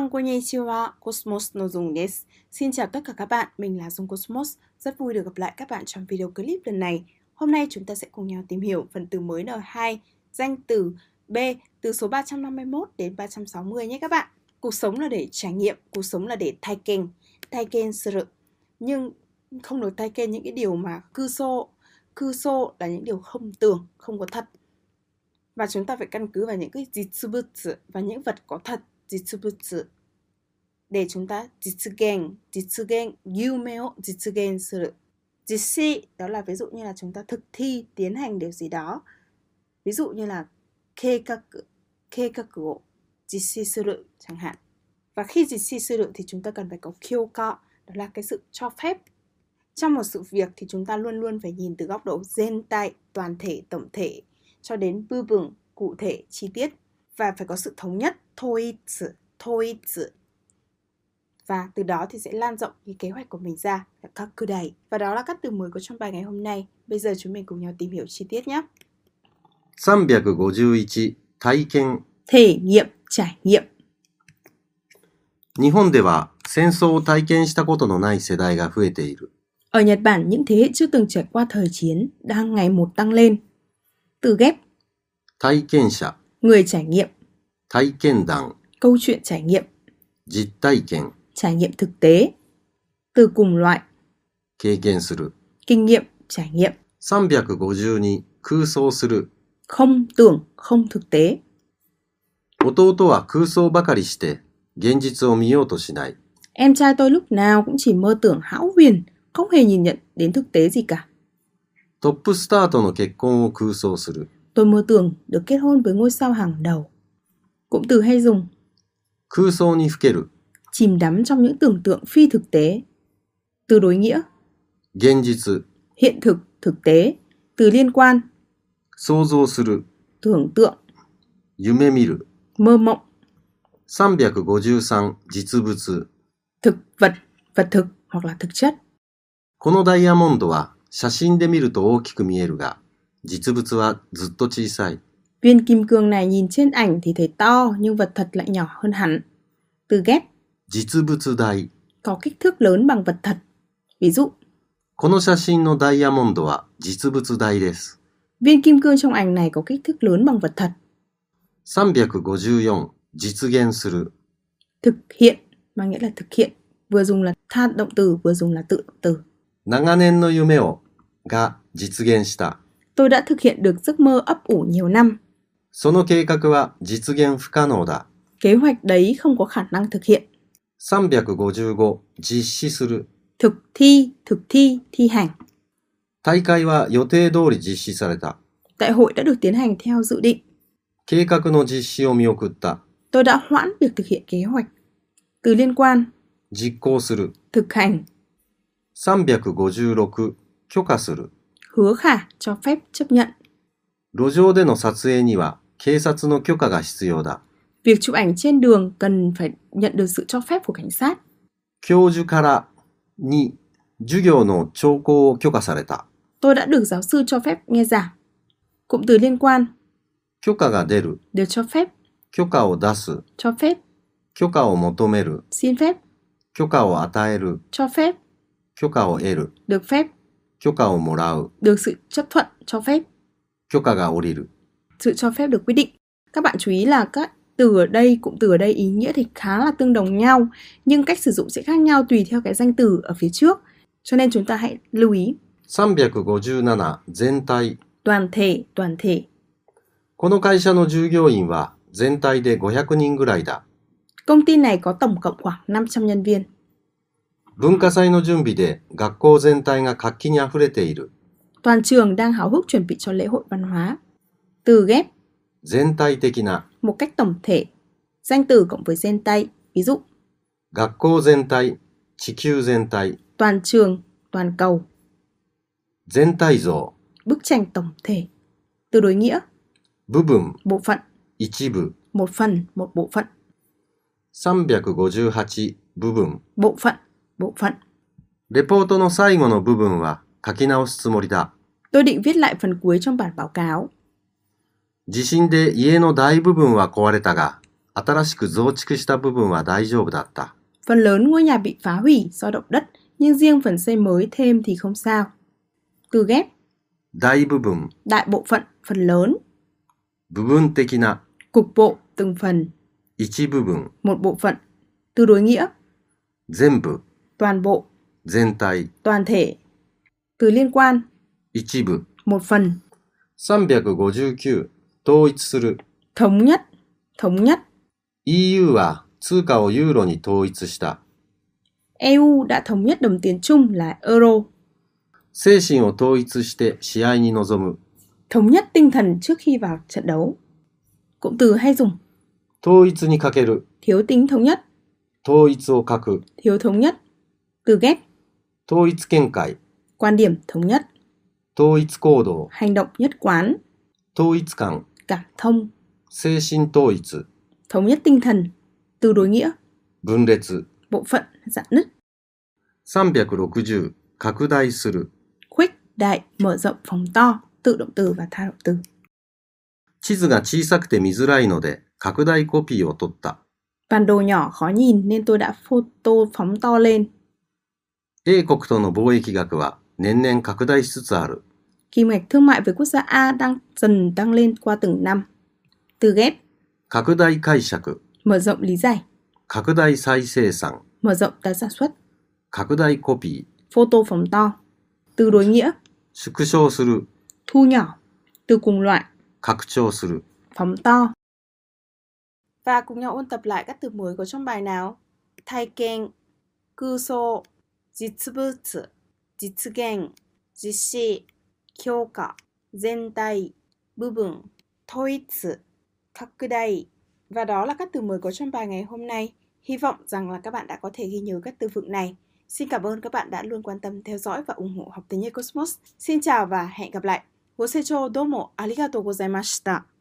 Minasan konnichiwa, Cosmos no Dung desu. Xin chào tất cả các bạn, mình là Dung Cosmos. Rất vui được gặp lại các bạn trong video clip lần này. Hôm nay chúng ta sẽ cùng nhau tìm hiểu phần từ mới N2, danh từ B, từ số 351 đến 360 nhé các bạn. Cuộc sống là để trải nghiệm, cuộc sống là để taiken suru. Nhưng không được taiken những cái điều mà kuso là những điều không tưởng, không có thật. Và chúng ta phải căn cứ vào những cái jitsubutsu và những vật có thật, jitsubutsu, để chúng ta jitsugen, yume o jitsugen suru. Jitsi đó là ví dụ như là chúng ta thực thi, tiến hành điều gì đó. Ví dụ như là keikaku o jitsi suru chẳng hạn. Và khi jitsi suru thì chúng ta cần phải có kyoko, đó là cái sự cho phép. Trong một sự việc thì chúng ta luôn luôn phải nhìn từ góc độ zentai, toàn thể, tổng thể, cho đến bubun, cụ thể, chi tiết. Và phải có sự thống nhất, toitsu. Và từ đó thì sẽ lan rộng cái kế hoạch của mình ra, là kakudai. Và đó là các từ mới có trong bài ngày hôm nay. Bây giờ chúng mình cùng nhau tìm hiểu chi tiết nhé. 351体験 Thể nghiệm, trải nghiệm. 日本では戦争を体験したことのない世代が増えている。 Ở Nhật Bản, những thế hệ chưa từng trải qua thời chiến đang ngày một tăng lên. Từ ghép 体験者、 người trải nghiệm, 体験談、 câu chuyện trải nghiệm, 実体験、 trải nghiệm thực tế. Từ cùng loại 経験する。 kinh nghiệm, trải nghiệm. 352空想する。 Không tưởng, không thực tế. 弟は空想ばかりして現実を見ようとしない。 Em trai tôi lúc nào cũng chỉ mơ tưởng hão huyền, không hề nhìn nhận đến thực tế gì cả. トップスターとの結婚を空想する。 Tôi mơ tưởng được kết hôn với ngôi sao hàng đầu. Cụm từ hay dùng 空想にふける。 chìm đắm trong những tưởng tượng phi thực tế. Từ đối nghĩa 現実、 hiện thực, thực tế. Từ liên quan 想像する。 tưởng tượng, 夢見る。 mơ mộng. 353実物。 Thực vật, vật thực hoặc là thực chất. このダイヤモンドは写真で見ると大きく見えるが、実物はずっと小さい。 Viên kim cương này nhìn trên ảnh thì thấy to nhưng vật thật lại nhỏ hơn hẳn. Từ ghép 実物大。 có kích thước lớn bằng vật thật. Ví dụ この写真のダイヤモンドは実物大です。 viên kim cương trong ảnh này có kích thước lớn bằng vật thật. 354実現する。 Thực hiện mang nghĩa là thực hiện, vừa dùng là tha động từ vừa dùng là tự động từ. 長年の夢をが実現した。 Tôi đã thực hiện được giấc mơ ấp ủ nhiều năm. その計画は実現不可能だ。 Kế hoạch đấy không có khả năng thực hiện. 355実施する。 thực thi, thi hành. 大会は予定通り実施された。 Đại hội đã được tiến hành theo dự định. 計画の実施を見送った。 Tôi đã hoãn việc thực hiện kế hoạch. Từ liên quan 実行する。 thực hành. 356許可する。 hứa khả, cho phép, chấp nhận. 路上での撮影には警察の許可が必要だ。 Việc chụp ảnh trên đường cần phải nhận được sự cho phép của cảnh sát. 教授からに授業の聴講を許可された。 Tôi đã được giáo sư cho phép nghe giảng. Cụm từ liên quan 許可が出る。 được cho phép, 許可を出す。 cho phép, 許可を求める。 xin phép, 許可を与える。 cho phép, 許可を得る。 được phép, 許可をもらう。 được sự chấp thuận, cho phép, 許可が下りる。 sự cho phép được quyết định. Các bạn chú ý là các từ ở đây, cụm từ ở đây ý nghĩa thì khá là tương đồng nhau, nhưng cách sử dụng sẽ khác nhau tùy theo cái danh từ ở phía trước. Cho nên chúng ta hãy lưu ý. 357全体。 Toàn thể. この会社の従業員は全体で500人ぐらいだ。 Công ty này có tổng cộng khoảng 500 nhân viên. 文化祭の準備で学校全体が活気にあふれている。 Toàn trường đang háo hức chuẩn bị cho lễ hội văn hóa. Từ ghép 全体的な。 một cách tổng thể. Danh từ cộng với zentai. Ví dụ 学校全体、地球全体。 toàn trường, toàn cầu. 全体像。 Bức tranh tổng thể. Từ đối nghĩa 部分、 bộ phận, 一部。 một phần, một bộ phận. 358部分。 Bộ phận. レポートの最後の部分は書き直すつもりだ。 Tôi định viết lại phần cuối trong bản báo cáo. 地震で家の大部分は壊れたが、 新しく増築した部分は大丈夫だった。 Phần lớn ngôi nhà bị phá hủy do động đất, nhưng riêng phần xây mới thêm thì không sao. Từ ghép 大部分、 đại bộ phận, phần lớn, 部分的な、 cục bộ, từng phần, 一部分、 một bộ phận. Từ đối nghĩa 全部、 toàn bộ, 全体、 toàn thể. Từ liên quan 一部。 một phần. 359、統一する。 Thống nhất, thống nhất. EU は通貨をユーロに統一した。 EU đã thống nhất đồng tiền chung là euro. 精神を統一して試合に臨む。 Thống nhất tinh thần trước khi vào trận đấu. Cụm từ hay dùng 統一に欠ける。 thiếu tính thống nhất, 統一を欠く。 thiếu thống nhất. Từ ghép 統一見解。 quan điểm thống nhất, 統一行動。 hành động nhất quán, 統一感。 cảm thông, 精神統一。 thống nhất tinh thần. Từ đối nghĩa 分裂。 bộ phận, rạn nứt. 360、拡大する。 Khuếch đại, mở rộng, phóng to. Tự động từ và tha động từ. 地図が小さくて見づらいので拡大コピーを取った。 Bản đồ nhỏ khó nhìn nên tôi đã photo phóng to lên. A 国との貿易額は年々拡大しつつある。 Kim ngạch thương mại với quốc gia A đang dần tăng lên qua từng năm. Từ ghép 拡大解釈。 mở rộng lý giải, 拡大再生産。 mở rộng tái sản xuất, 拡大コピー。 photo phóng to. Từ đối nghĩa 縮小する。 thu nhỏ. Từ cùng loại 拡張する。 phóng to. Và cùng nhau ôn tập lại các từ mới có trong bài nào. 体験、空想、実物、実現、実施、強化、全体、部分、統一、拡大. Và đó là các từ mới có trong bài ngày hôm nay. Hy vọng rằng là các bạn đã có thể ghi nhớ các từ vựng này. Xin cảm ơn các bạn đã luôn quan tâm theo dõi và ủng hộ học tiếng Nhật Cosmos. Xin chào và hẹn gặp lại. ご清聴どうもありがとうございました。